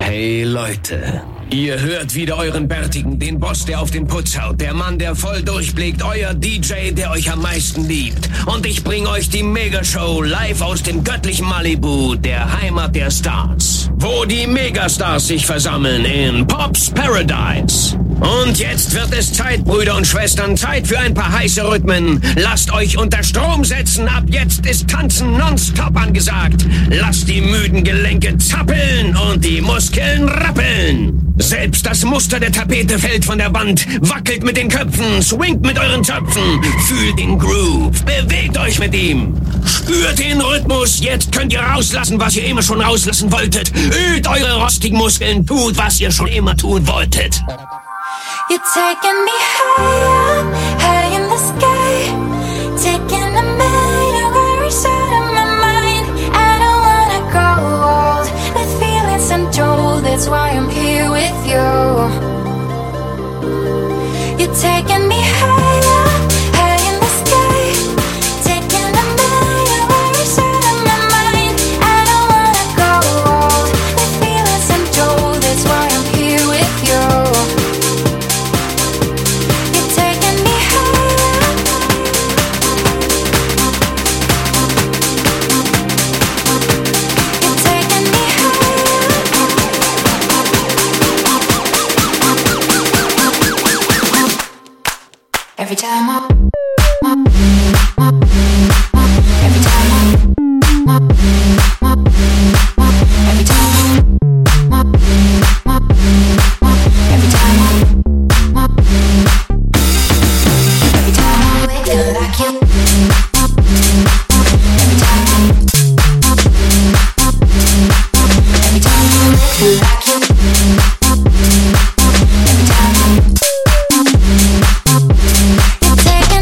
Hey Leute, ihr hört wieder euren Bärtigen, den Boss, der auf den Putz haut, der Mann, der voll durchblickt, euer DJ, der euch am meisten liebt. Und ich bring euch die Megashow live aus dem göttlichen Malibu, der Heimat der Stars, wo die Megastars sich versammeln in Pop's Paradise. Und jetzt wird es Zeit, Brüder und Schwestern, Zeit für ein paar heiße Rhythmen. Lasst euch unter Strom setzen, ab jetzt ist Tanzen nonstop angesagt. Lasst die müden Gelenke zappeln und die Muskeln rappeln. Selbst das Muster der Tapete fällt von der Wand. Wackelt mit den Köpfen, swingt mit euren Zöpfen. Fühlt den Groove, bewegt euch mit ihm. Spürt den Rhythmus, jetzt könnt ihr rauslassen, was ihr immer schon rauslassen wolltet. Übt eure rostigen Muskeln, tut, was ihr schon immer tun wolltet. You're taking me higher, high in the sky. Taking a million worries out of my mind. I don't wanna grow old with feelings untold. That's why I'm here with you. You're taking me higher, high in the sky. Taking a million worries out of my mind. I don't wanna grow old with feelings untold. That's why I'm here with you. Every time taking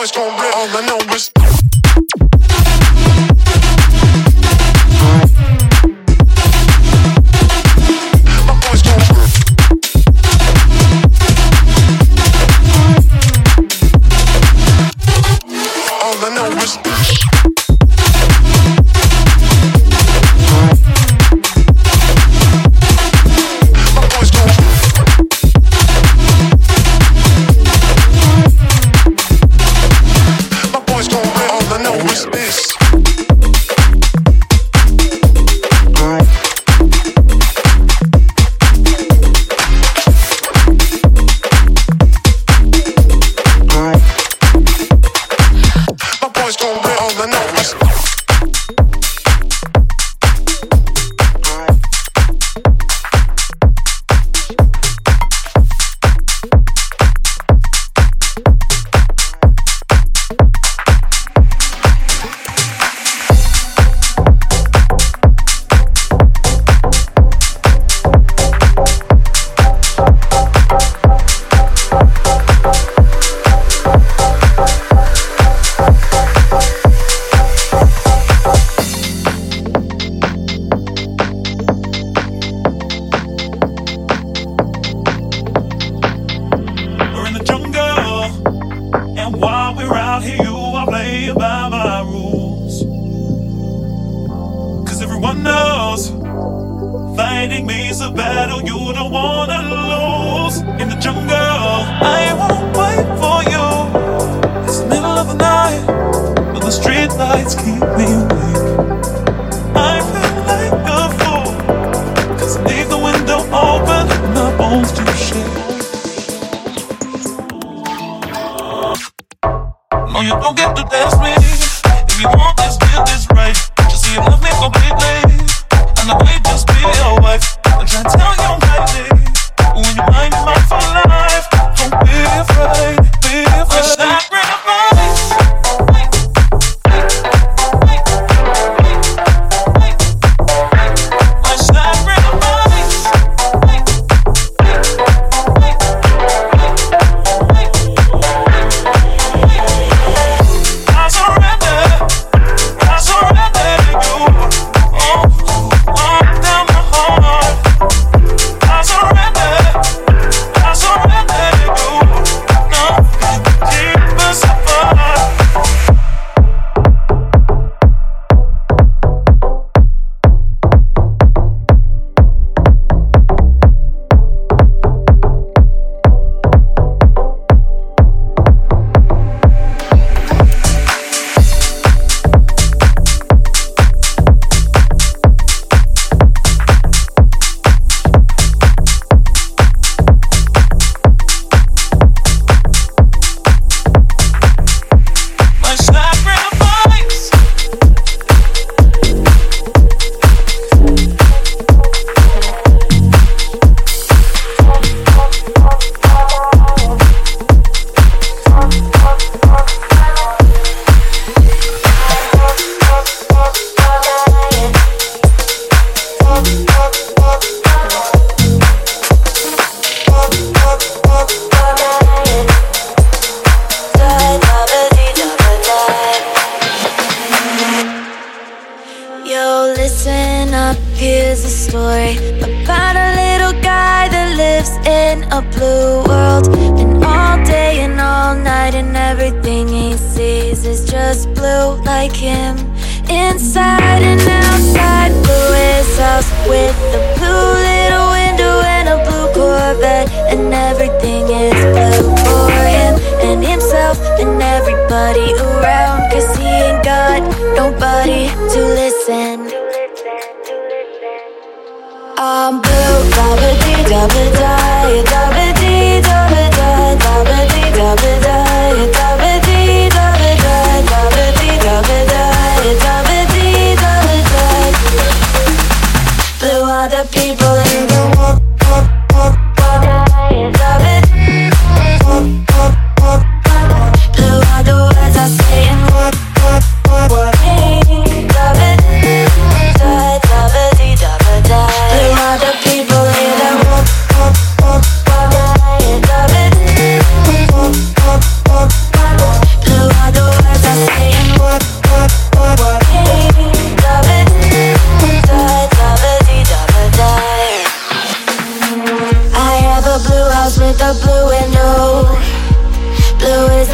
boys gon' rip, all I know is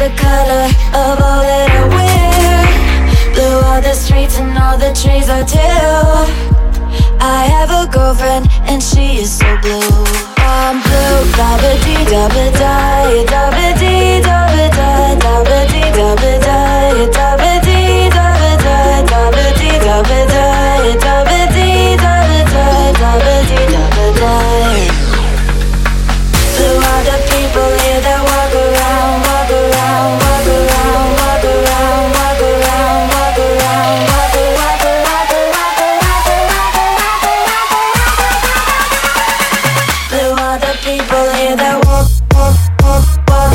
the color of all that I wear. Blue are the streets and all the trees are too. I have a girlfriend and she is so blue. I'm blue, da-ba-dee, da-ba-die, da-ba-dee, da-ba-die, da-ba-dee, da-ba-die, da-ba-dee, da-ba-die, da-ba-dee, da-ba-die, da-ba-dee, da-ba-die, da-ba-dee, da-ba-die. Blue are the people here that walk around, walk around, walk around, walk around, walk around, walk around, walk around, walk around. Blue are the people here that walk, walk, walk, walk.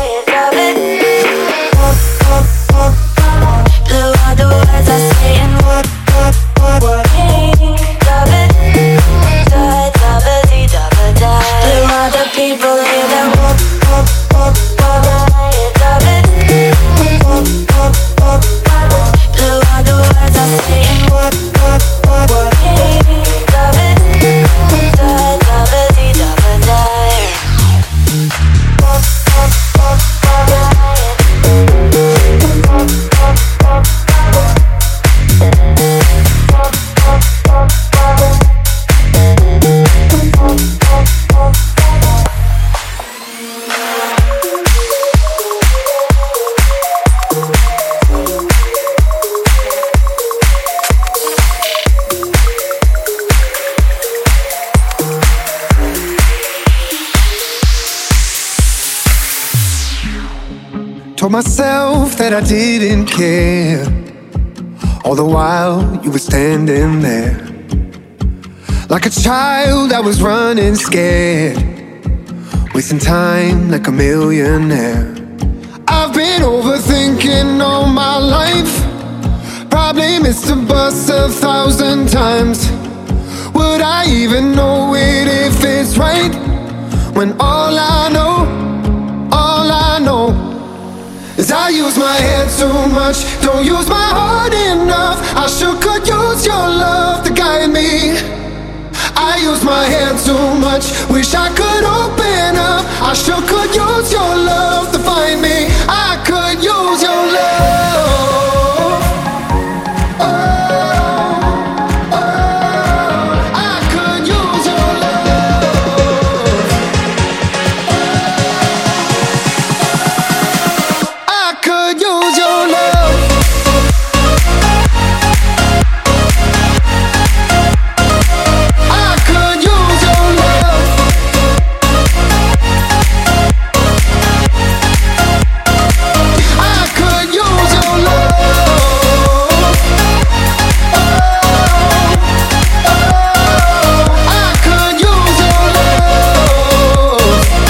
Blue are the words I say and walk, walk, walk, walk. Blue are the people here that walk, walk, walk, walk. Blue are the words I say and walk, walk, walk, walk. Told myself that I didn't care, all the while you were standing there. Like a child I was running scared, wasting time like a millionaire. I've been overthinking all my life, probably missed the bus 1,000 times. Would I even know it if it's right, when all I know is I use my head too much, don't use my heart enough. I sure could use your love to guide me. I use my head too much, wish I could open up. I sure could use your love to find me. I could use your love. Oh, oh, I could use your love. I could use your love. I could use your love. I could use your love. Oh, oh, I could use your love.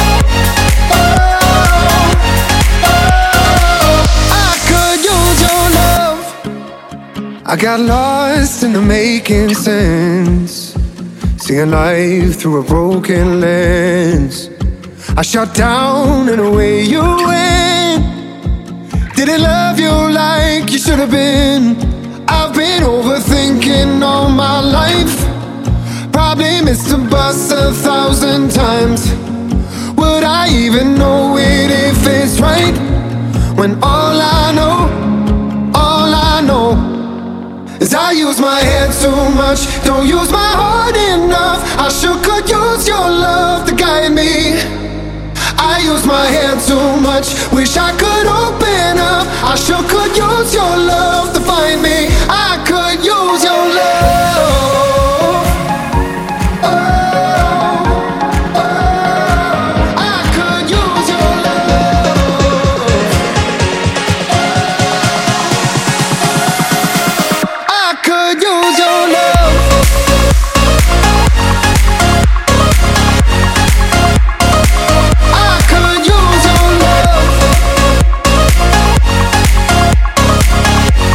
I could use your love. I got lost in the making sense, seeing life through a broken lens. I shut down and away you went. Didn't love you like you should have been. I've been overthinking all my life, probably missed the bus 1,000 times. Would I even know it if it's right, when all I know is I use my head too much, don't use my heart enough. I sure could use your love to guide me. I use my head too much, wish I could open up. I sure could use your love to find me. I could use your love. Oh, oh, I could use your love. I could use your love. I could use your love.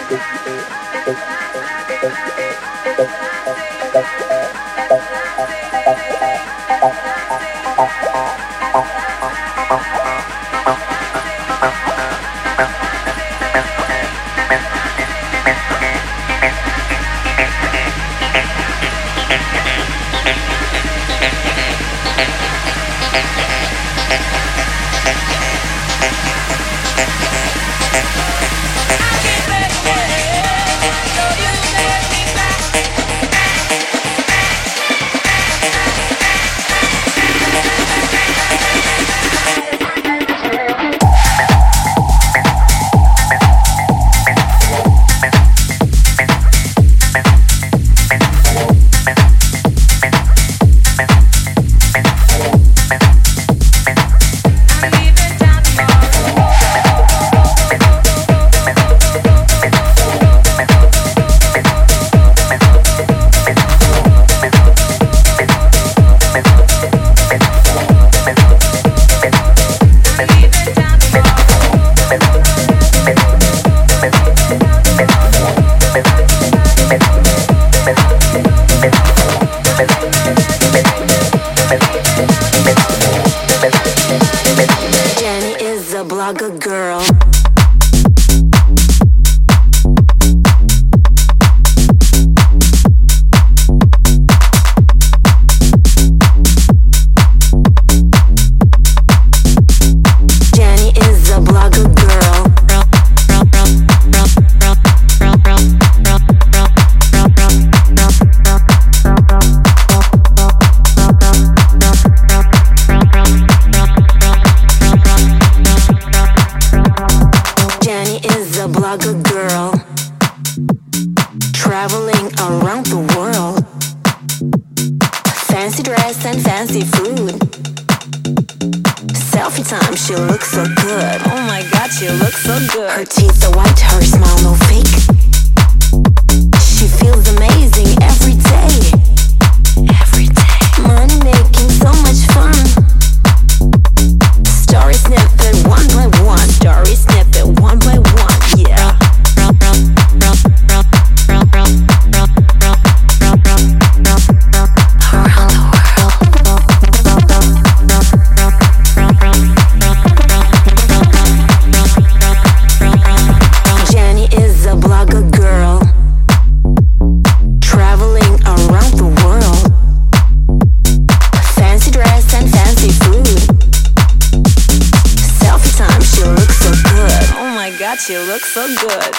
You look so good.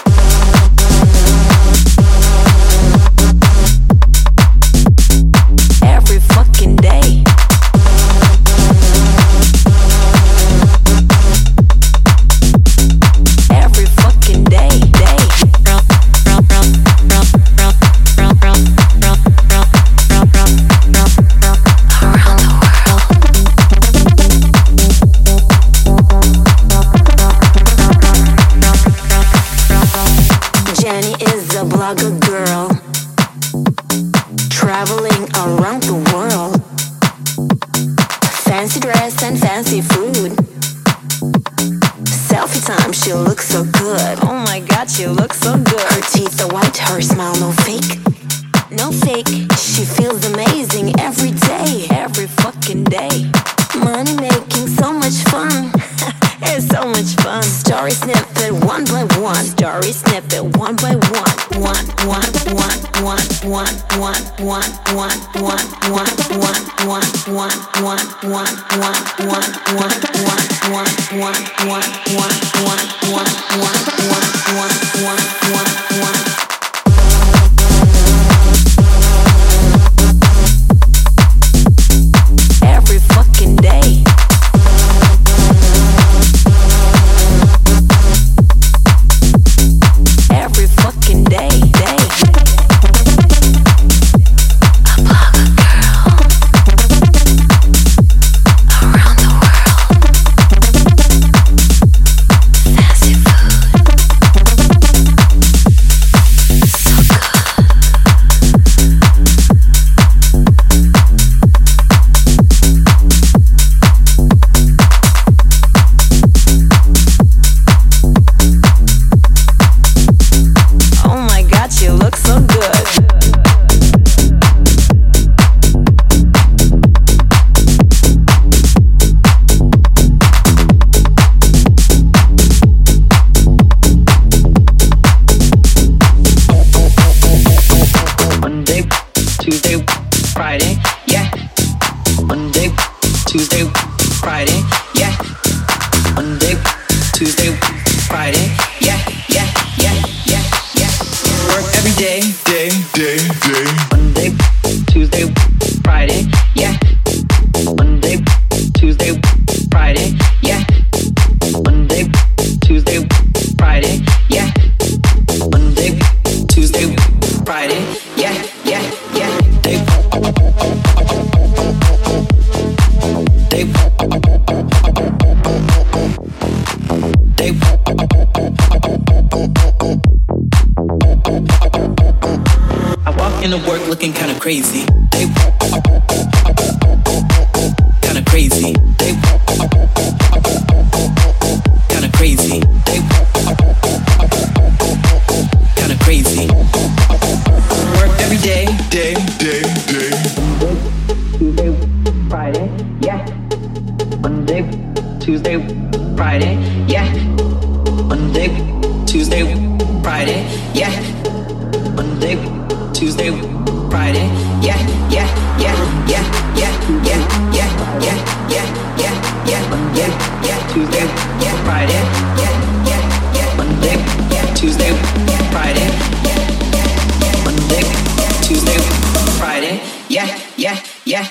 Every fucking day. Every fucking day. Jenny is a blogger girl, traveling around the world. Fancy dress and fancy food. Selfie time, she looks so good. Oh my god, she looks so good. Her teeth are white, her smile no fake. No fake, she feels amazing every day. Every fucking day. Money making so much fun. It's so much fun. Story snippet one by one. Story snippet one by one. One. Every fucking day. Every fucking day. A blogger girl around the world. Fancy food. day. Monday, Tuesday, Friday, yeah. Monday, Tuesday, Friday, yeah. Monday, Tuesday, Friday, yeah. Monday, Tuesday, Friday, yeah, yeah, yeah. I walk into work looking kinda crazy. Kinda crazy. Kinda crazy. Kinda crazy. Work every day. Tuesday, Friday, yeah. Monday, Tuesday, Friday, yeah. Monday, Tuesday, Friday, yeah. Monday, Tuesday, Friday, yeah, yeah, yeah, yeah, yeah, yeah, yeah, yeah, yeah, yeah, yeah, yeah, yeah, Tuesday, yeah, Friday, yeah, yeah, yeah, Monday, Tuesday, Friday, Monday, Tuesday, Friday, yeah, yeah, yeah.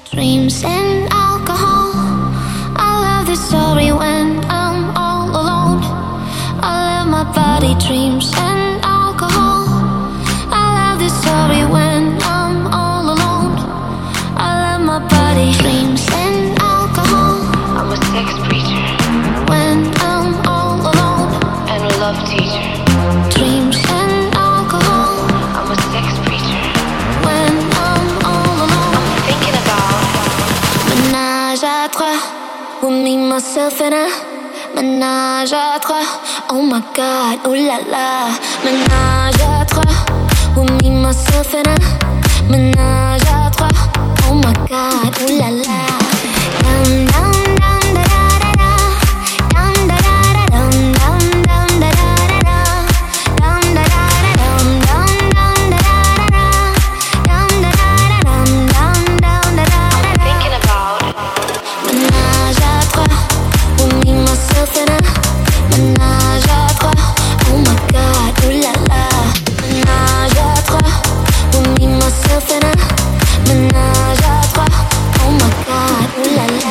Dreams and alcohol. I love this story when I'm all alone. I love my body, dreams and alcohol. I love this story when I'm all alone. I love my body, dreams and alcohol. I'm a sex preacher When I'm all alone. and a love teacher. Dreams and alcohol. I'm a sex preacher. When I'm all alone. I'm thinking about Ménage à trois. With me, myself and I. Ménage à trois. Oh my god, oh la la. Ménage à trois. With me, myself and I. Ménage à trois. Oh my god, oh la la. Dum dum dum da da da da. Dum da da da dum dum dum da da da da. Dum da da da dum dum dum da da da da. Dum da da da dum dum dum da da da da. thinking about Ménage à trois, with me, myself and I. Ménage à trois, oh my god, oh la la. Ménage à trois, with me, myself and I. Ménage à trois, oh my god, oh la la.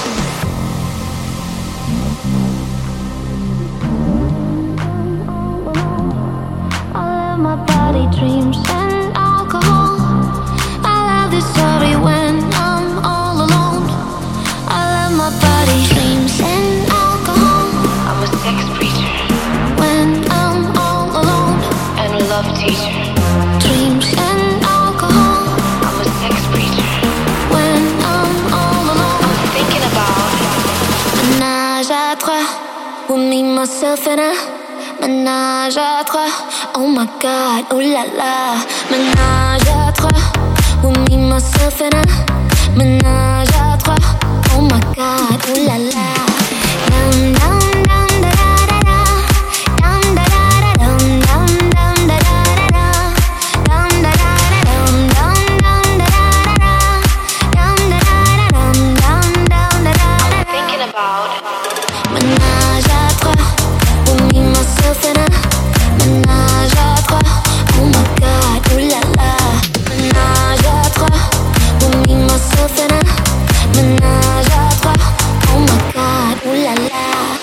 I love my body, dreams and alcohol. I love this story when I'm all alone. I love my body, dreams and alcohol. I'm a sex preacher When I'm all alone. and a love teacher. Dreams and alcohol. I'm a sex preacher. When I'm all alone. I'm thinking about Ménage à trois, with me, myself and I. Ménage à trois, oh my god, oh la la. Ménage à trois, with me, myself and I. Ménage à trois, oh my god, oh la la. Dum dum dum da da da da. Dum da da da dum dum dum da da da da. Dum da da da dum dum dum da da da da. Dum da da da dum dum dum da da da da. thinking about Ménage à trois, with me, myself and I. Ménage à trois, oh my god, oh la la. Ménage à trois, with me, myself and I. Ménage à trois, oh my god, oh la la.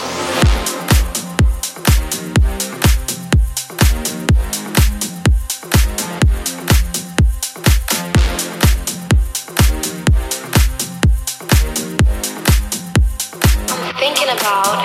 thinking about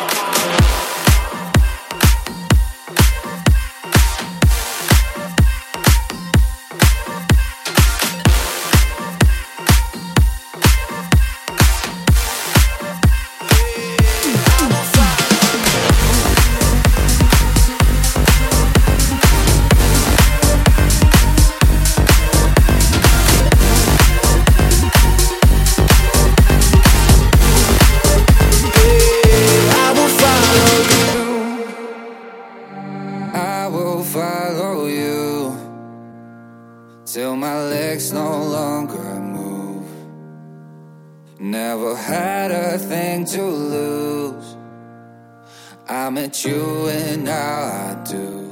I will follow you till my legs no longer move. Never had a thing to lose. I met you and now I do.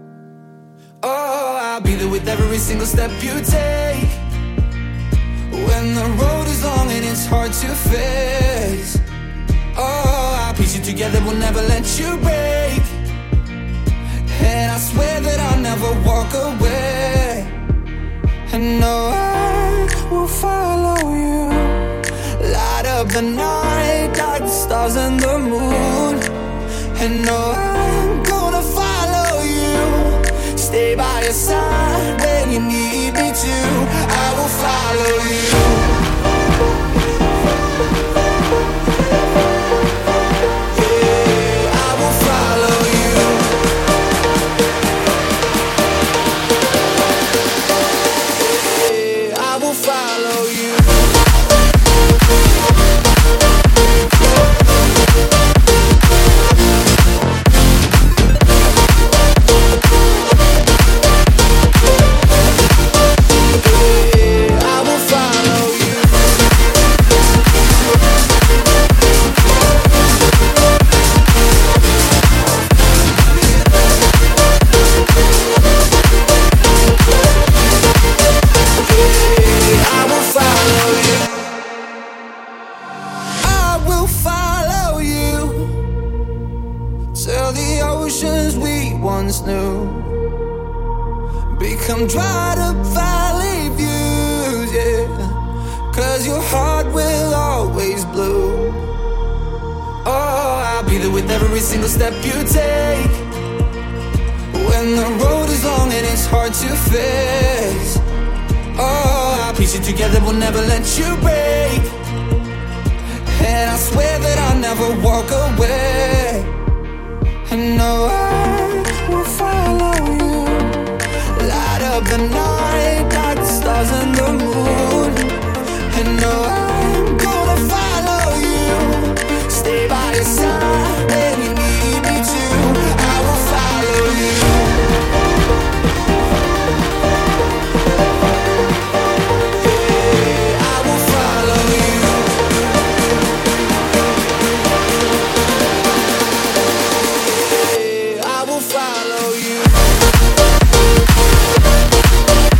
Oh, I'll be there with every single step you take. When the road is long and it's hard to face. Oh, I'll piece you together, we'll never let you break. And I swear that I'll never walk away. And no, I will follow you. Light up the night like the stars and the moon. And no, I'm gonna follow you. Stay by your side when you need me to. I will follow you. Don't try to find views, yeah, 'cause your heart will always bloom. Oh, I'll be there with every single step you take. When the road is long and it's hard to face. Oh, I'll piece it together, we'll never let you break. And I swear that I'll never walk away. And no, I will follow you. Light up the night like the stars and the moon. And no, I'm gonna follow you. Stay by your side when you need me to. I will follow you. Yeah, I will follow you. Yeah, I will follow you.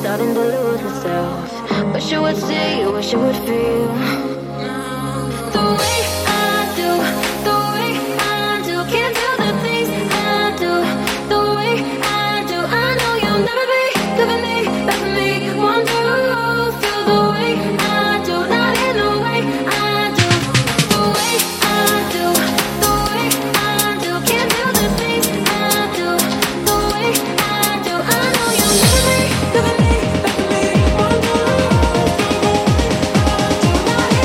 starting to lose myself. Wish you would see, wish you would feel the way I do, the way I do. Can't do the things I do, the way I do. I know you'll never be good for me, bad for me. Want to feel the way I do, not in the way I do. The way I do, the way I do. Can't do the things I do, the way I do. I know you'll never be good for me, bad for me. Want to feel the way I do, not in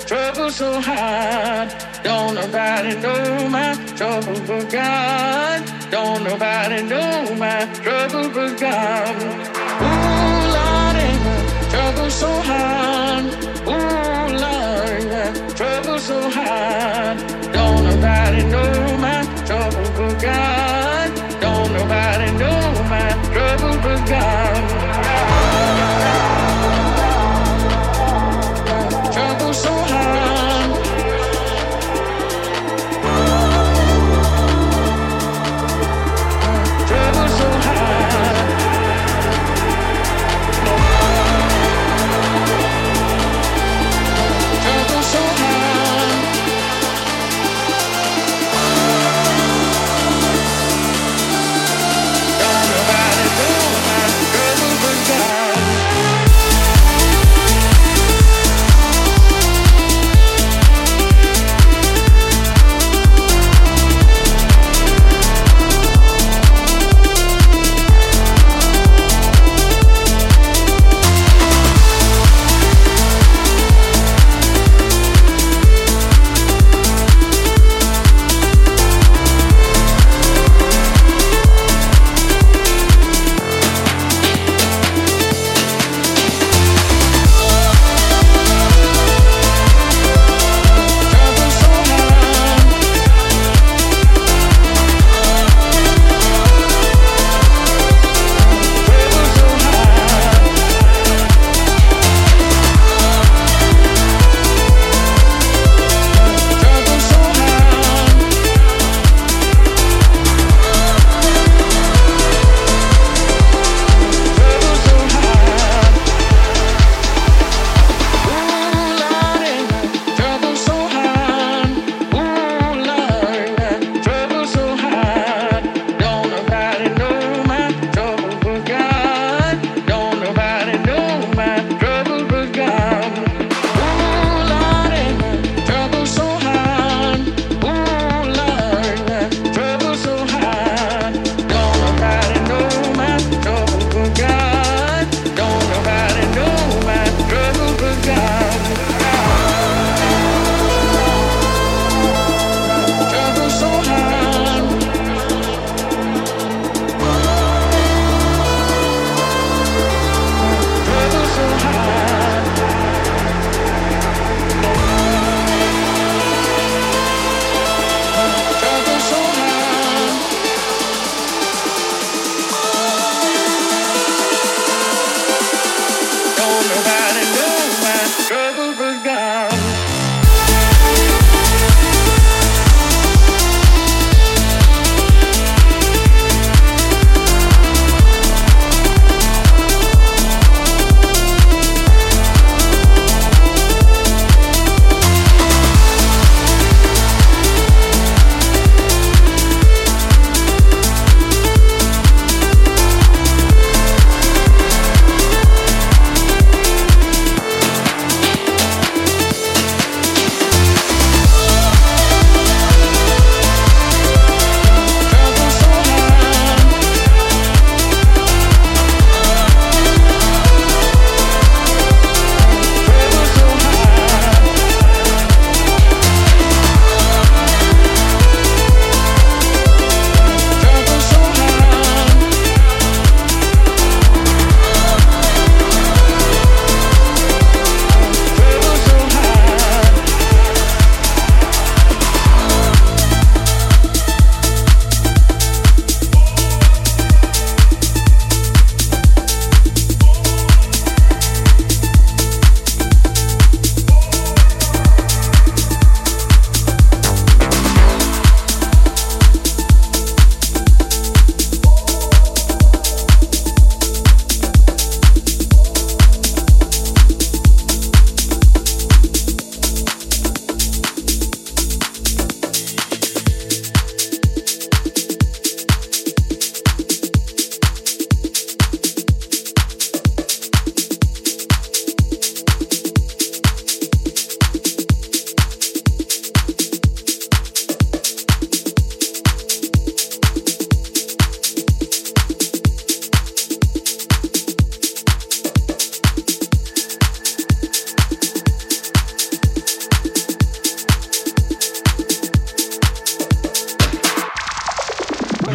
trouble so hard. Don't nobody know my trouble but God. Don't nobody know my trouble but God. Ooh, Lord, trouble so hard. Ooh, Lord, trouble so hard. Don't nobody know my trouble but God. Don't nobody know my trouble but God. Trouble so hard. Trouble so hard. Trouble so hard.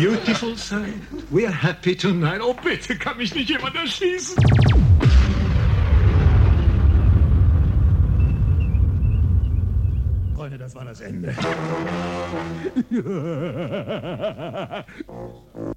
beautiful sight. We are happy tonight. Oh, bitte, kann mich nicht jemand erschießen? Freunde, das war das Ende.